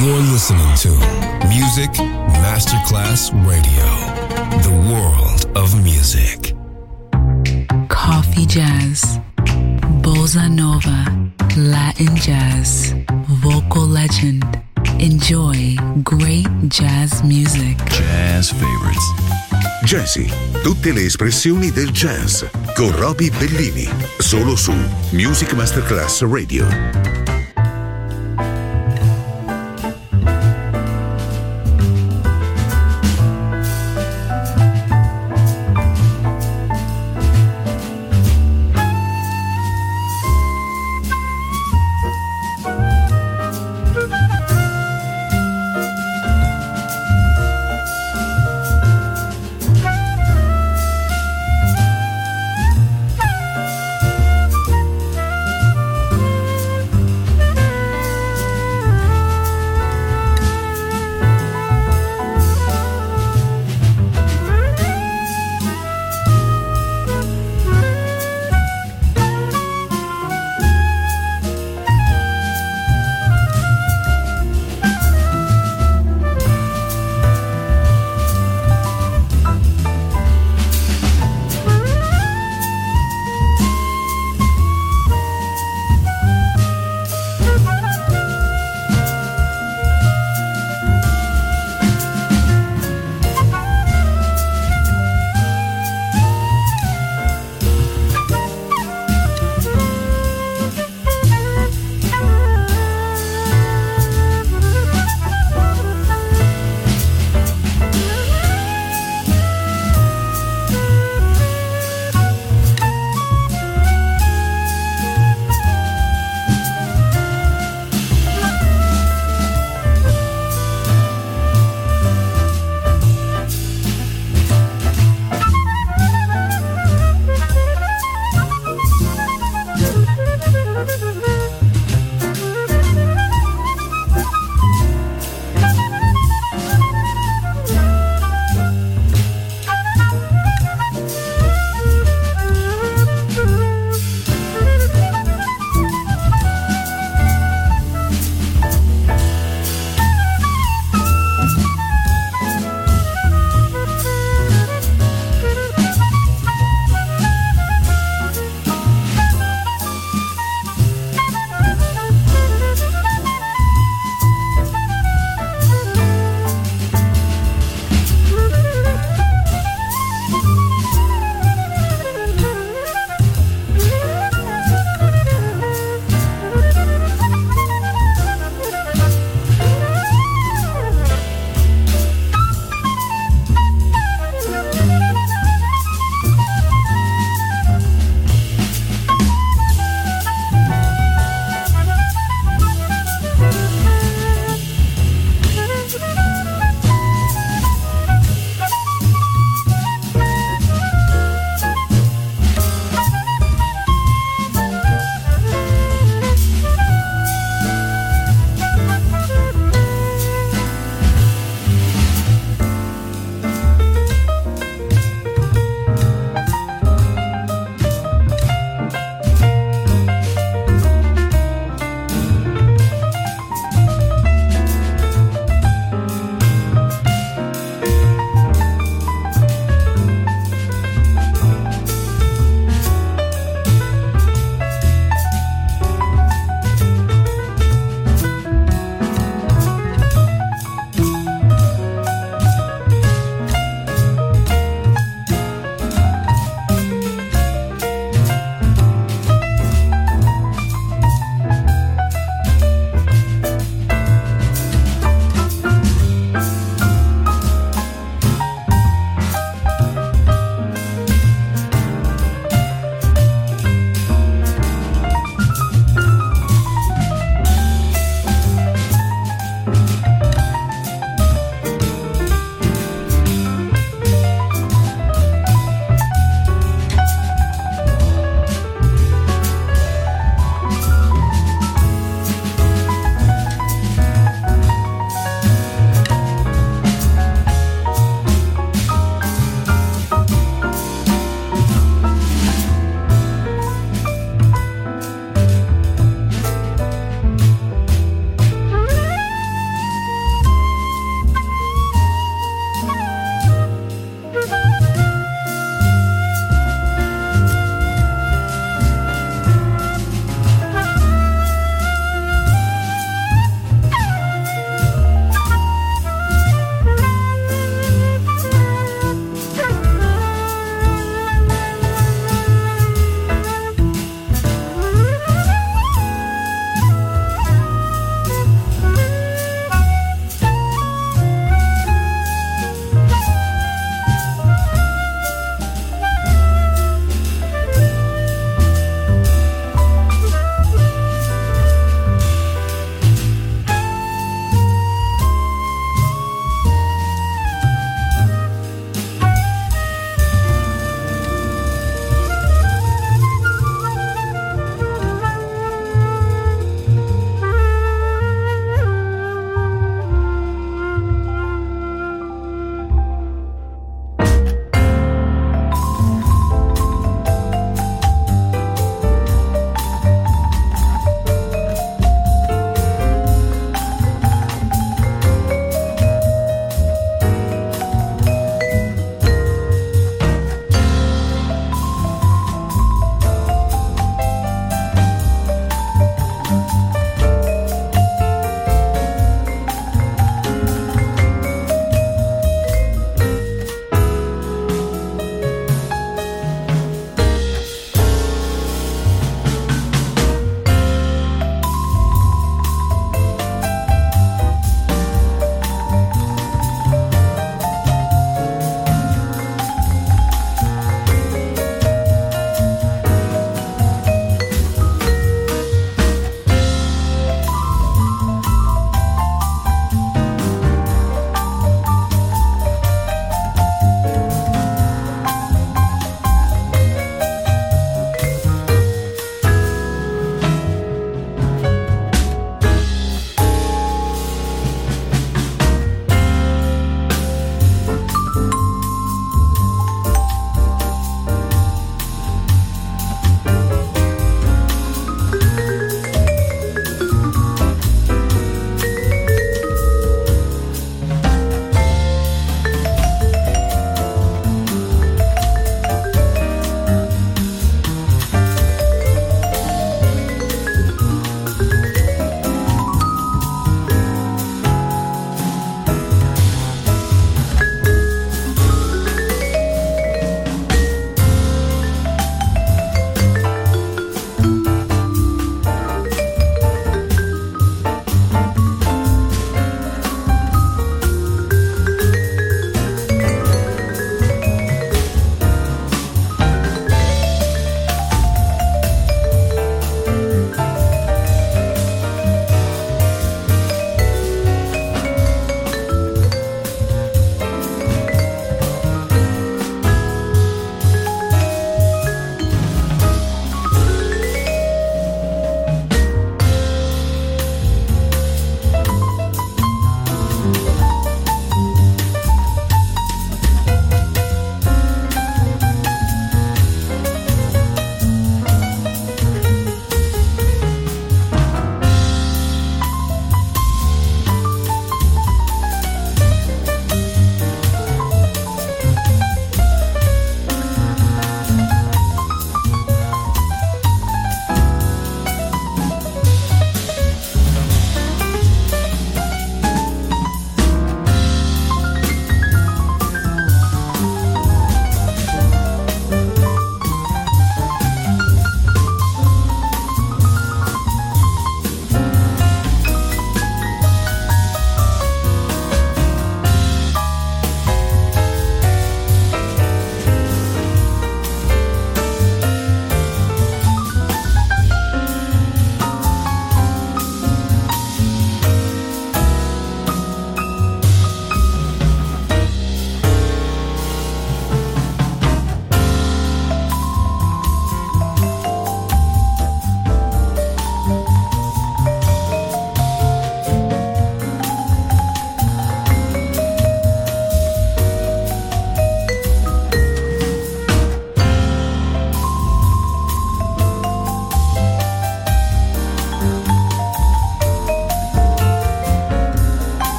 You're listening to Music Masterclass Radio, the world of music. Coffee jazz, bossa nova, Latin jazz, vocal legend. Enjoy great jazz music. Jazz favorites. Jazzy, tutte le espressioni del jazz con Roby Bellini, solo su Music Masterclass Radio.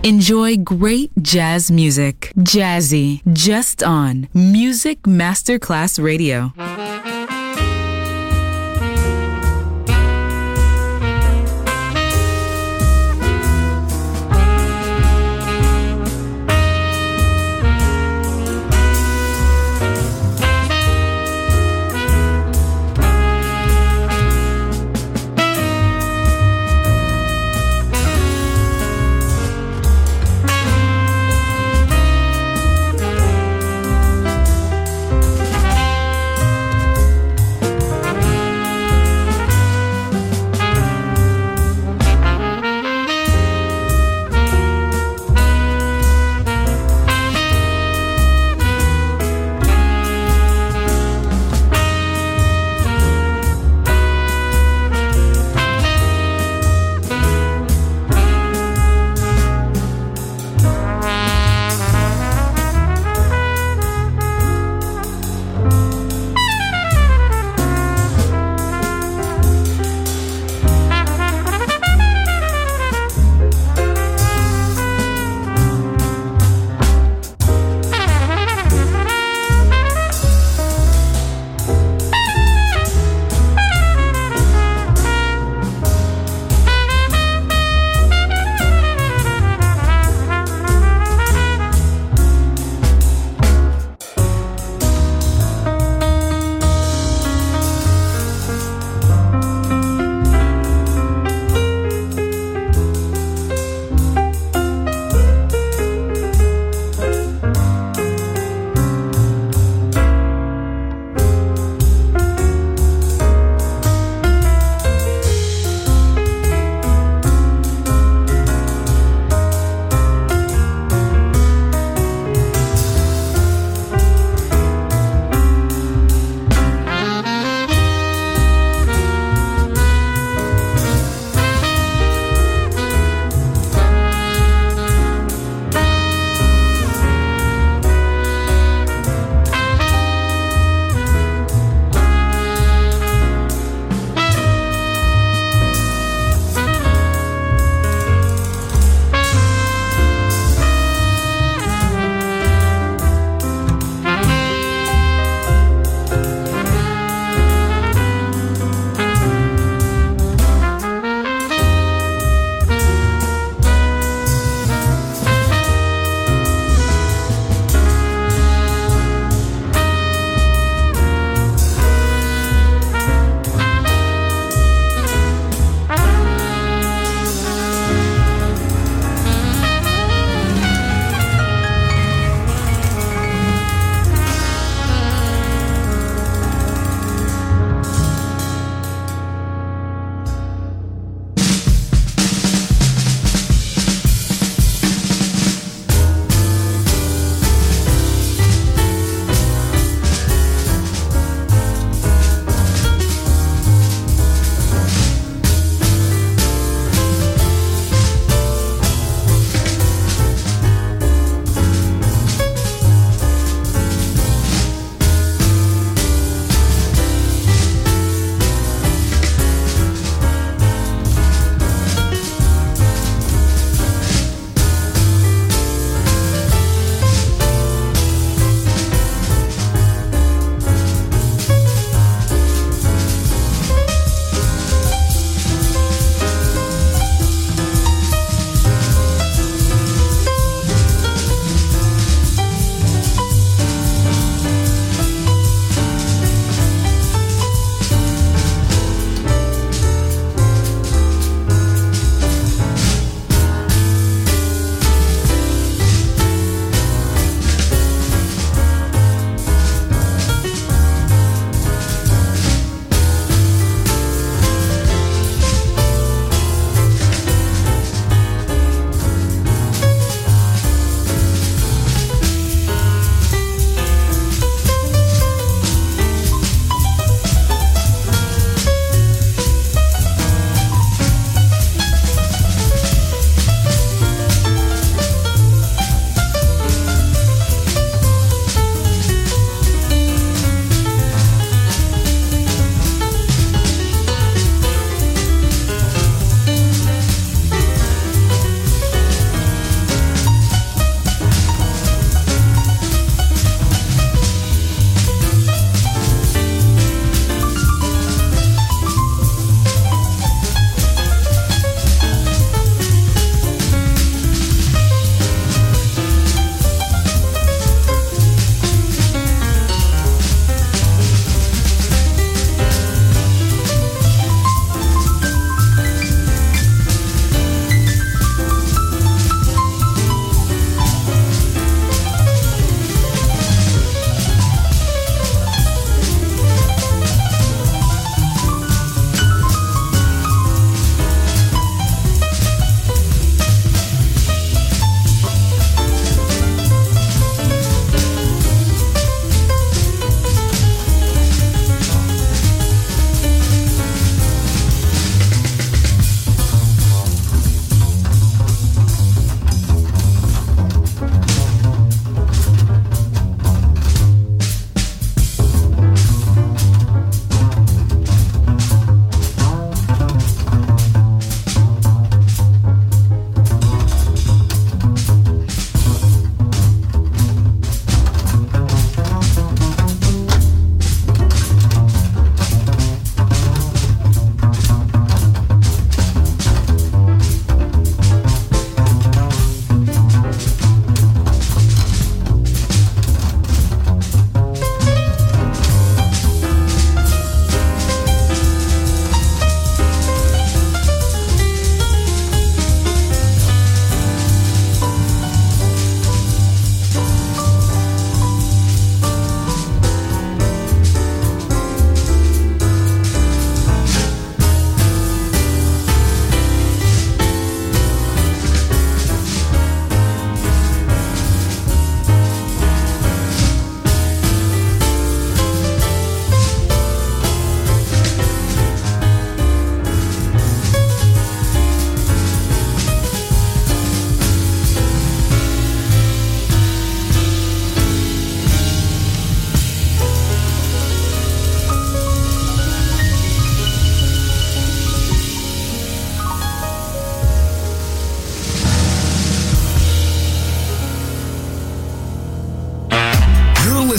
Enjoy great jazz music. Jazzy, just on Music Masterclass Radio.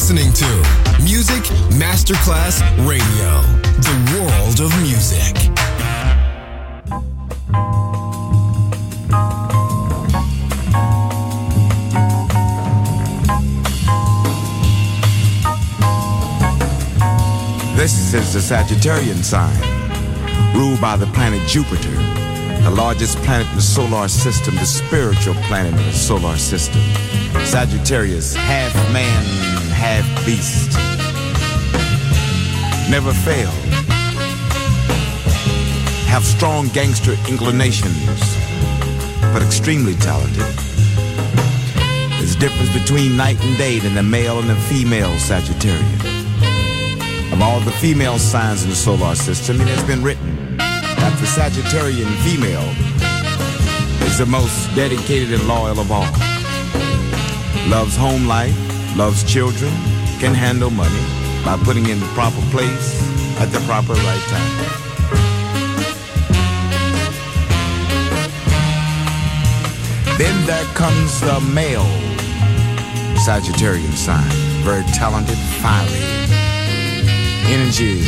listening to Music Masterclass Radio, the world of music. This is the Sagittarian sign, ruled by the planet Jupiter, the largest planet in the solar system, the spiritual planet in the solar system. Sagittarius, half man, half beast. Never fail. Have strong gangster inclinations, but extremely talented. There's a difference between night and day than the male and the female Sagittarian. Of all the female signs in the solar system, it has been written that the Sagittarian female is the most dedicated and loyal of all. Loves home life, loves children, can handle money by putting in the proper place at the proper right time. Then there comes the male Sagittarian sign, very talented, fiery. Energies.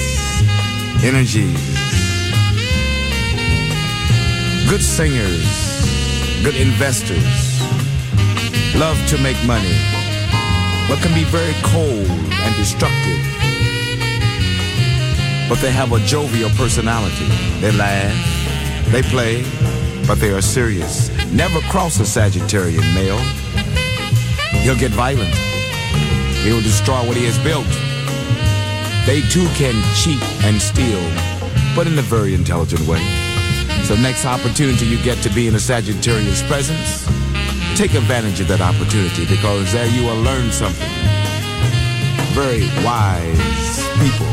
Good singers, good investors, love to make money, but can be very cold and destructive. But they have a jovial personality. They laugh, they play, but they are serious. Never cross a Sagittarian male. He'll get violent. He'll destroy what he has built. They too can cheat and steal, but in a very intelligent way. So next opportunity you get to be in a Sagittarius presence, take advantage of that opportunity, because there you will learn something. Very wise people.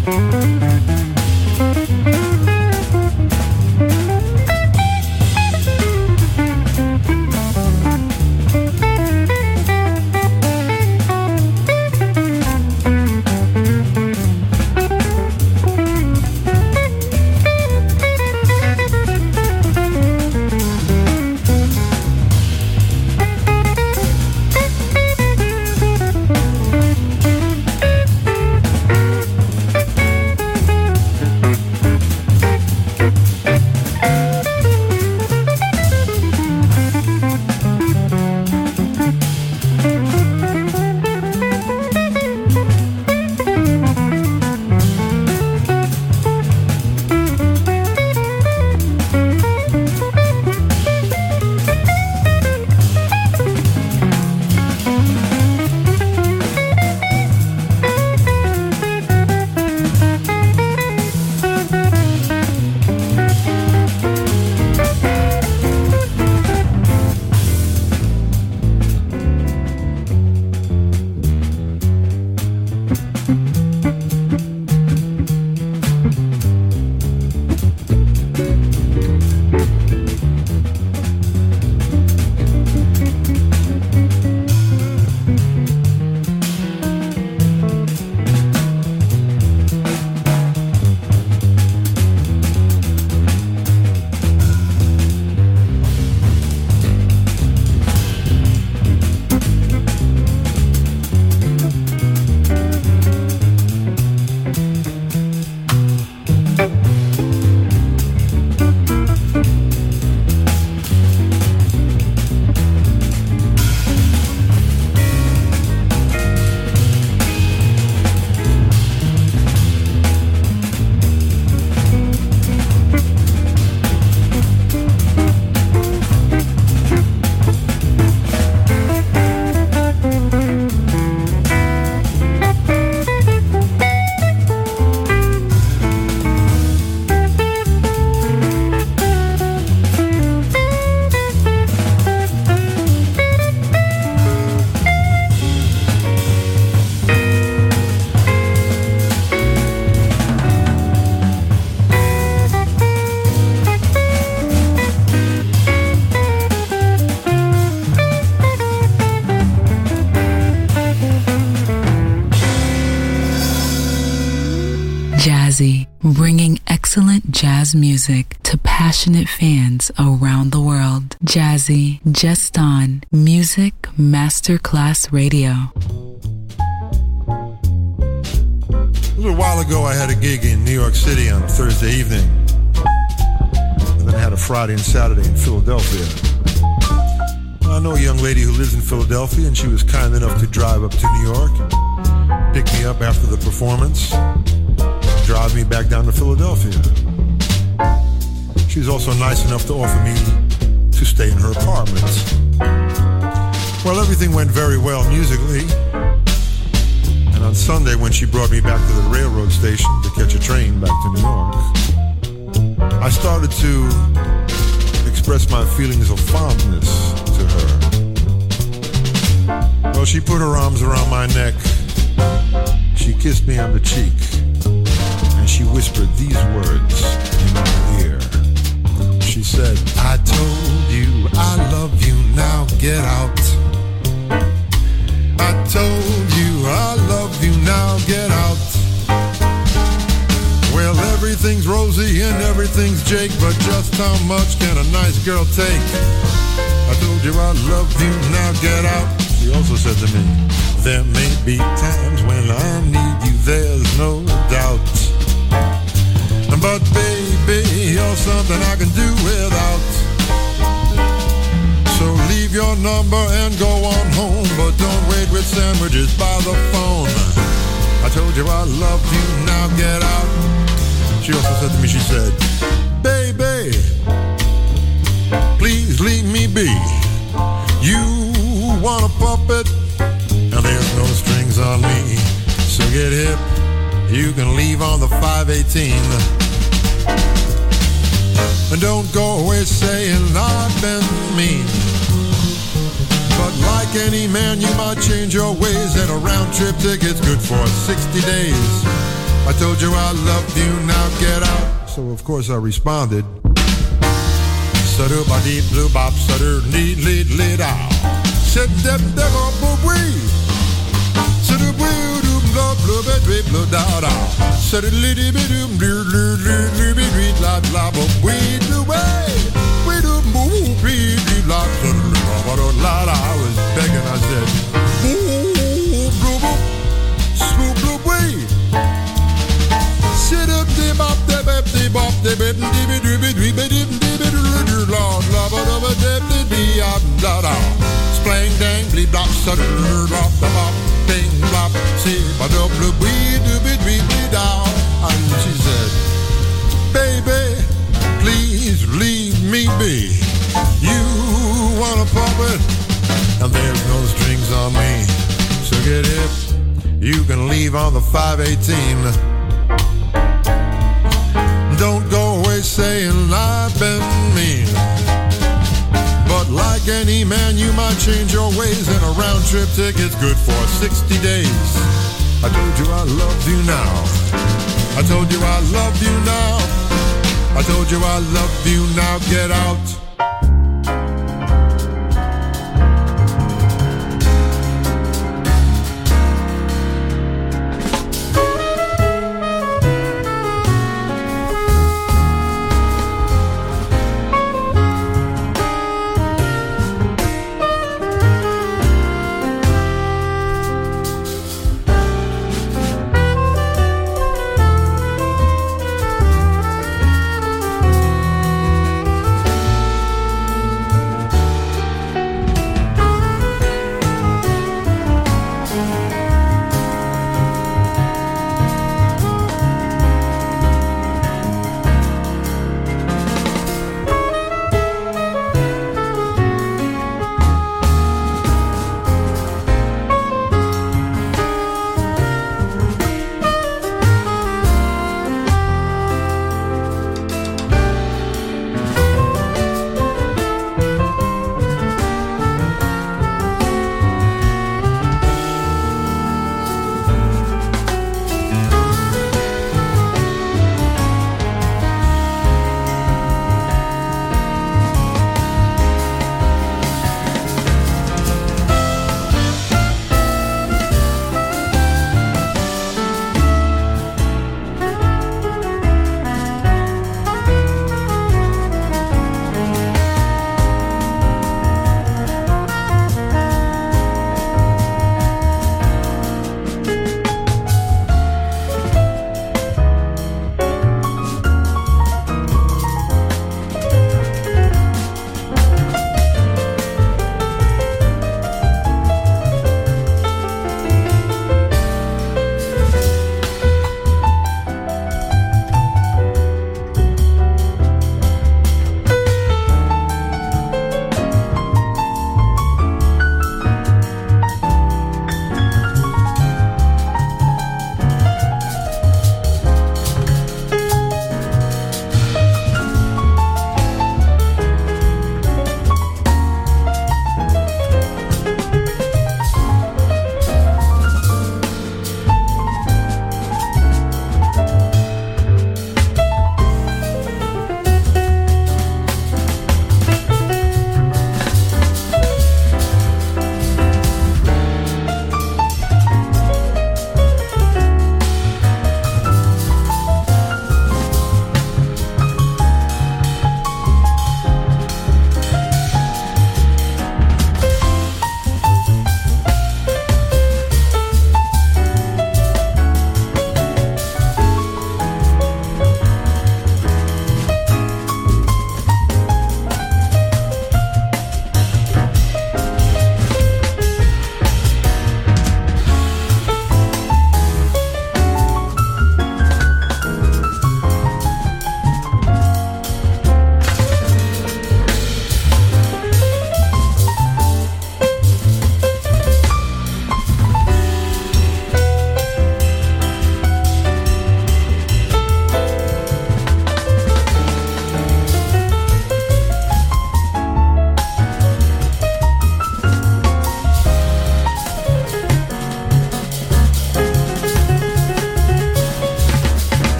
Jazzy, bringing excellent jazz music to passionate fans around the world. Jazzy, just on Music Masterclass Radio. A little while ago, I had a gig in New York City on Thursday evening. And then I had a Friday and Saturday in Philadelphia. I know a young lady who lives in Philadelphia, and she was kind enough to drive up to New York and pick me up after the performance, drive me back down to Philadelphia. She was also nice enough to offer me to stay in her apartment. Well, everything went very well musically. And on Sunday, when she brought me back to the railroad station to catch a train back to New York, I started to express my feelings of fondness to her. Well, she put her arms around my neck, she kissed me on the cheek, and she whispered these words in my ear. She said, I told you I love you, now get out. I told you I love you, now get out. Well, everything's rosy and everything's Jake, but just how much can a nice girl take? I told you I love you, now get out. She also said to me, there may be times when I need you, there's no doubt. But baby, you're something I can do without. So leave your number and go on home, but don't wait with sandwiches by the phone. I told you I love you, now get out. She also said to me, she said, baby, please leave me be. You want a puppet, and there's no strings on me. So get hip, you can leave on the 518. And don't go away saying I've been mean. But like any man, you might change your ways, and a round trip ticket's good for 60 days. I told you I love you, now get out. So of course I responded. Sutter ba deep blue bop, sutter need lead out. Said that devil boo wee. Sutter blue do blah blah blah blah da da. Sutter liddy biddy blue blue blue blue blue blah blah blah we do way. We do boo bee bee blah blah blah blah da. I was begging, I said boo blue boo swoop blue way. Sit up de bop de bop de bop de bip de bip de bip de bip de bip de la la ba da ba de de be up da da. Splang dang bleep blop sutter blop da bop ding blop see ba da blue wee do bit wee wee down. And she said, baby, please leave me be. You wanna pump it, and there's no strings on me. So get hip, you can leave on the 518. Don't go away saying I've been mean. But like any man, you might change your ways, and a round trip ticket's good for 60 days. I told you I love you now. I told you I love you now. I told you I love you, now get out.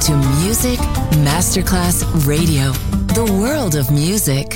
to Music Masterclass Radio, the world of music.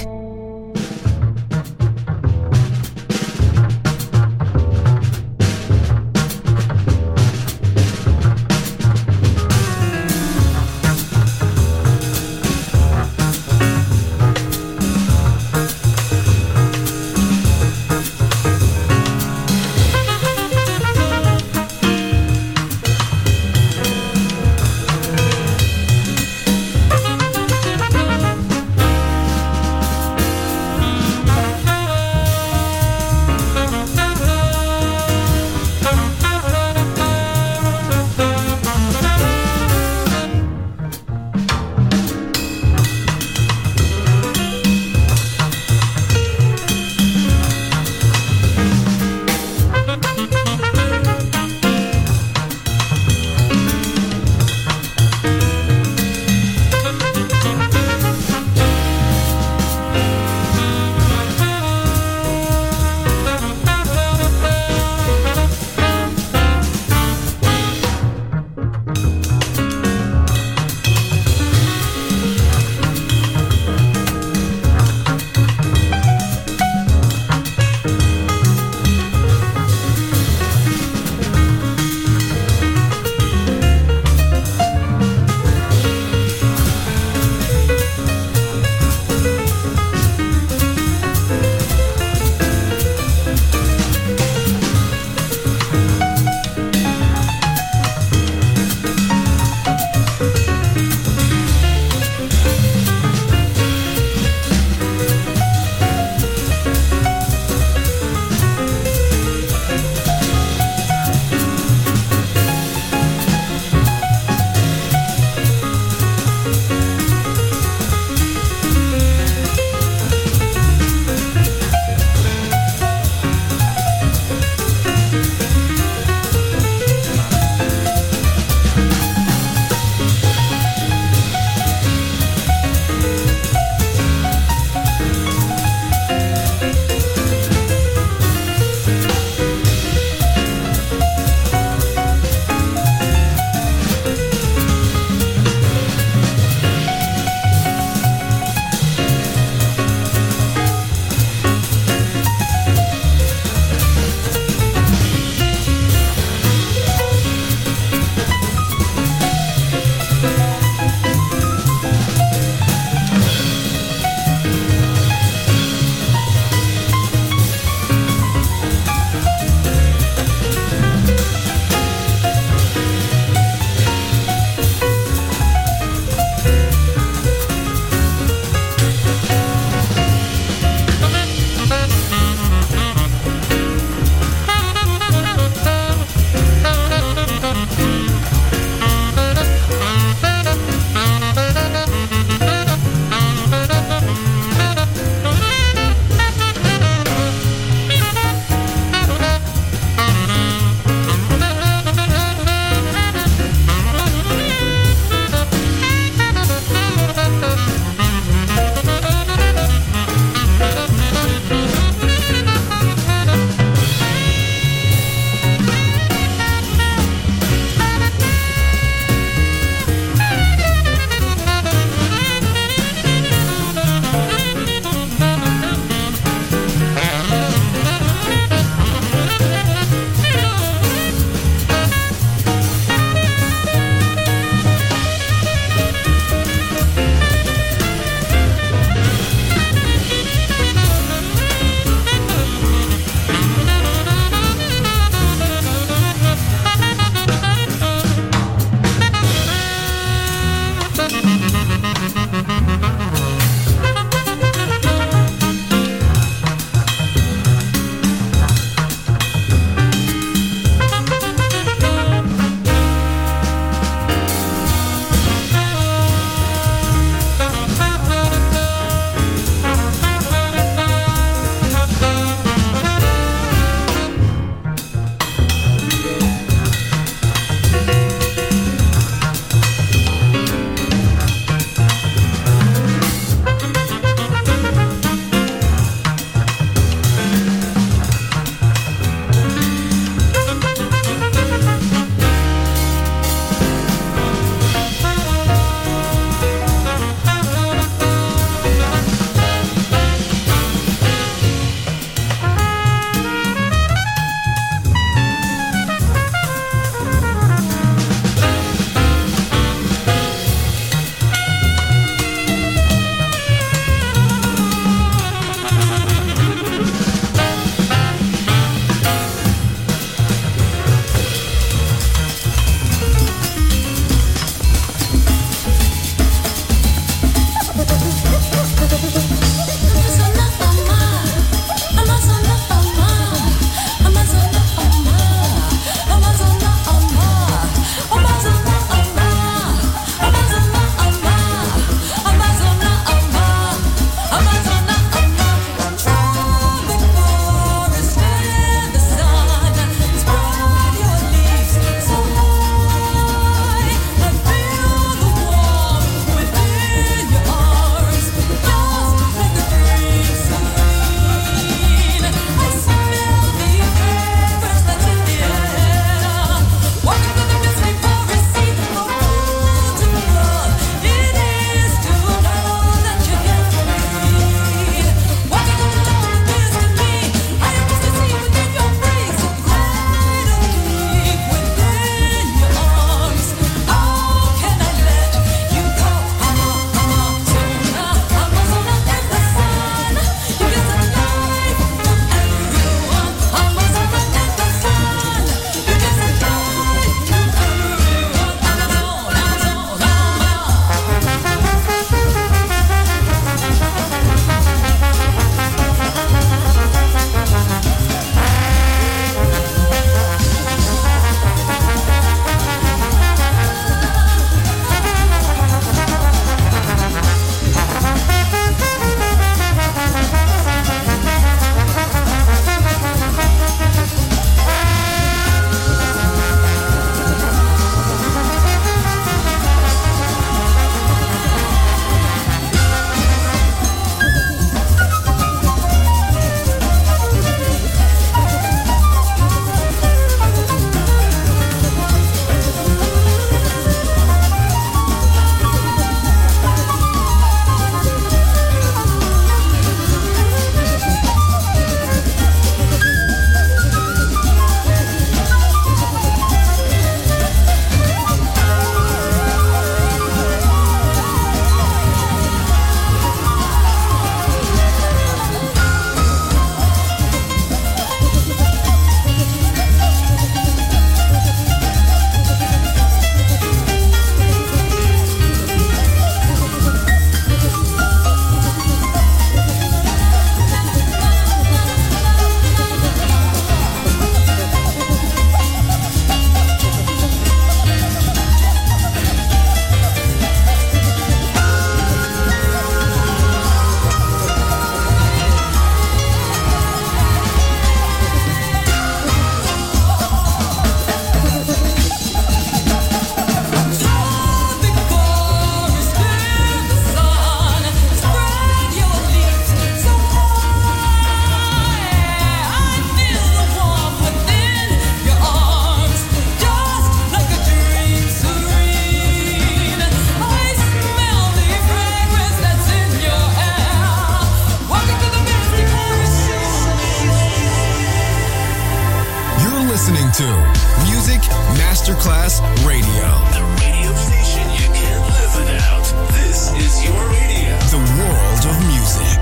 Masterclass Radio. The radio station you can't live without. This is your radio. The world of music.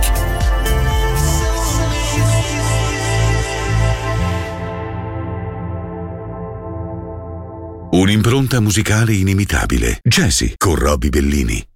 Un'impronta musicale inimitabile. Jazzy con Robbie Bellini.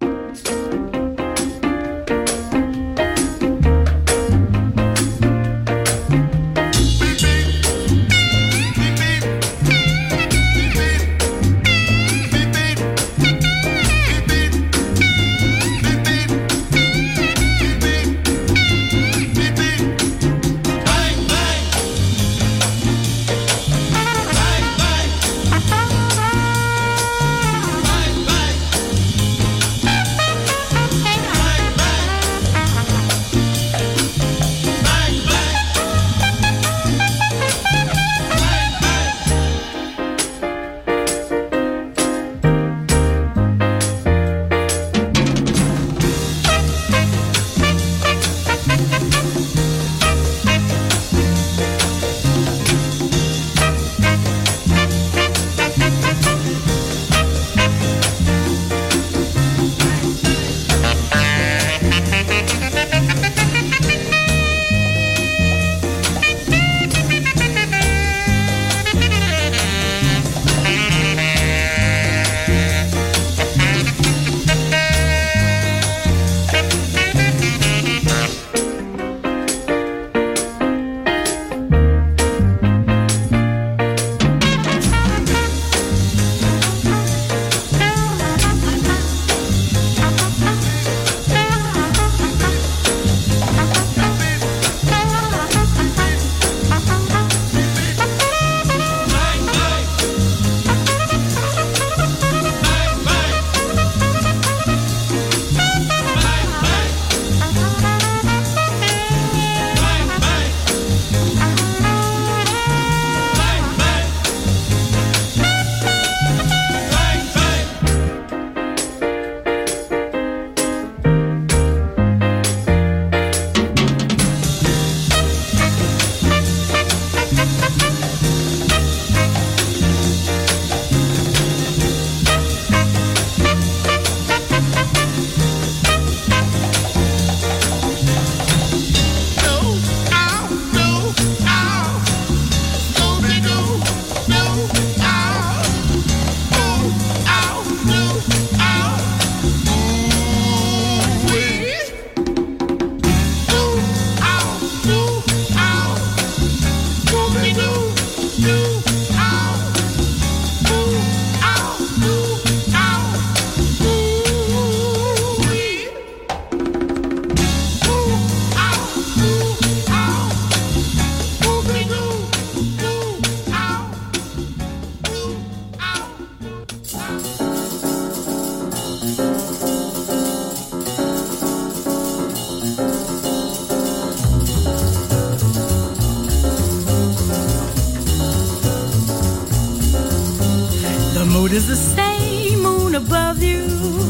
mood is the same, moon above you,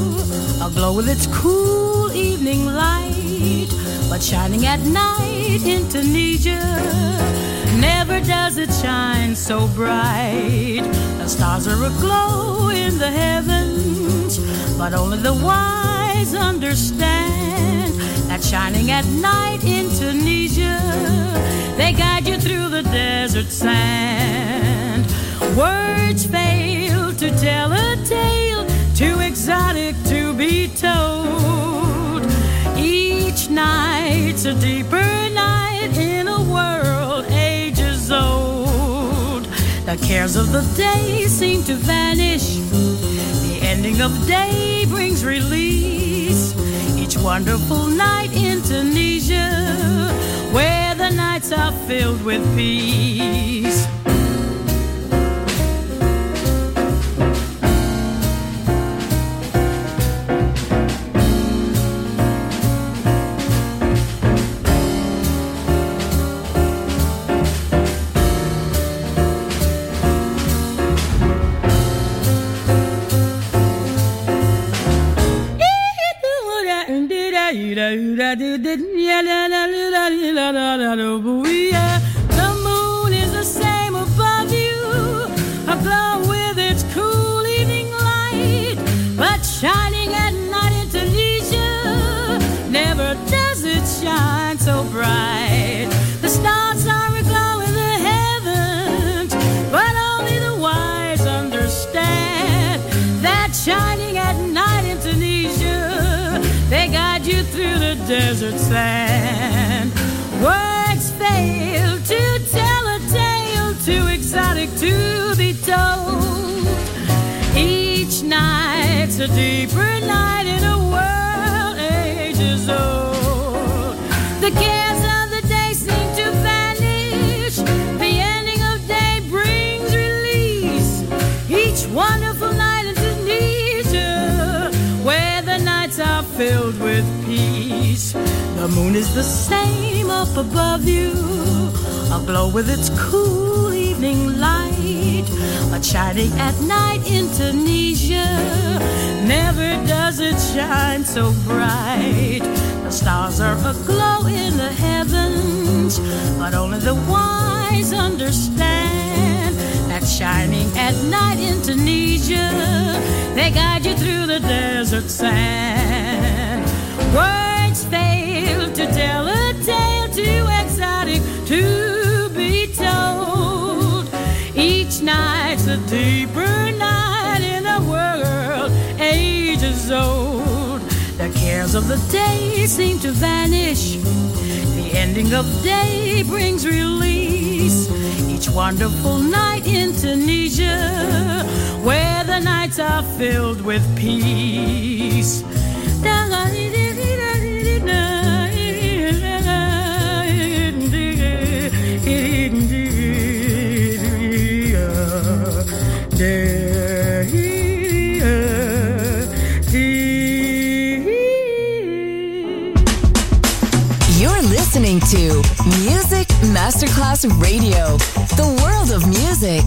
aglow with its cool evening light, but shining at night in Tunisia, never does it shine so bright. The stars are aglow in the heavens, but only the wise understand that shining at night in Tunisia, they guide you through the desert sand. Words fail to tell a tale too exotic to be told. Each night's a deeper night in a world ages old. The cares of the day seem to vanish. The ending of day brings release. Each wonderful night in Tunisia, where the nights are filled with peace. The moon is the same. shining at night in Tunisia. Never does it shine so bright. The stars are aglow in the heavens, but only the wise understand that shining at night in Tunisia, they guide you through the desert sand. Words fail to tell a tale too exotic to be told. Each night's a deeper night in a world ages old. The cares of the day seem to vanish. The ending of day brings release. Each wonderful night in Tunisia, where the nights are filled with peace. The moon is the same up above you, aglow with its cool evening light. But shining at night in Tunisia, never does it shine so bright. The stars are aglow in the heavens, but only the wise understand that shining at night in Tunisia, they guide you through the desert sand. Words fail to tell a tale too exotic to be told. Each night's a deeper night in a world ages old. The cares of the day seem to vanish. The ending of day brings release. Each wonderful night in Tunisia, where the nights are filled with peace. You're listening to Music Masterclass Radio, the world of music.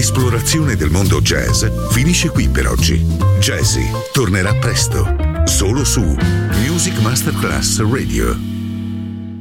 L'esplorazione del mondo jazz finisce qui per oggi. Jazzy tornerà presto, solo su Music Masterclass Radio.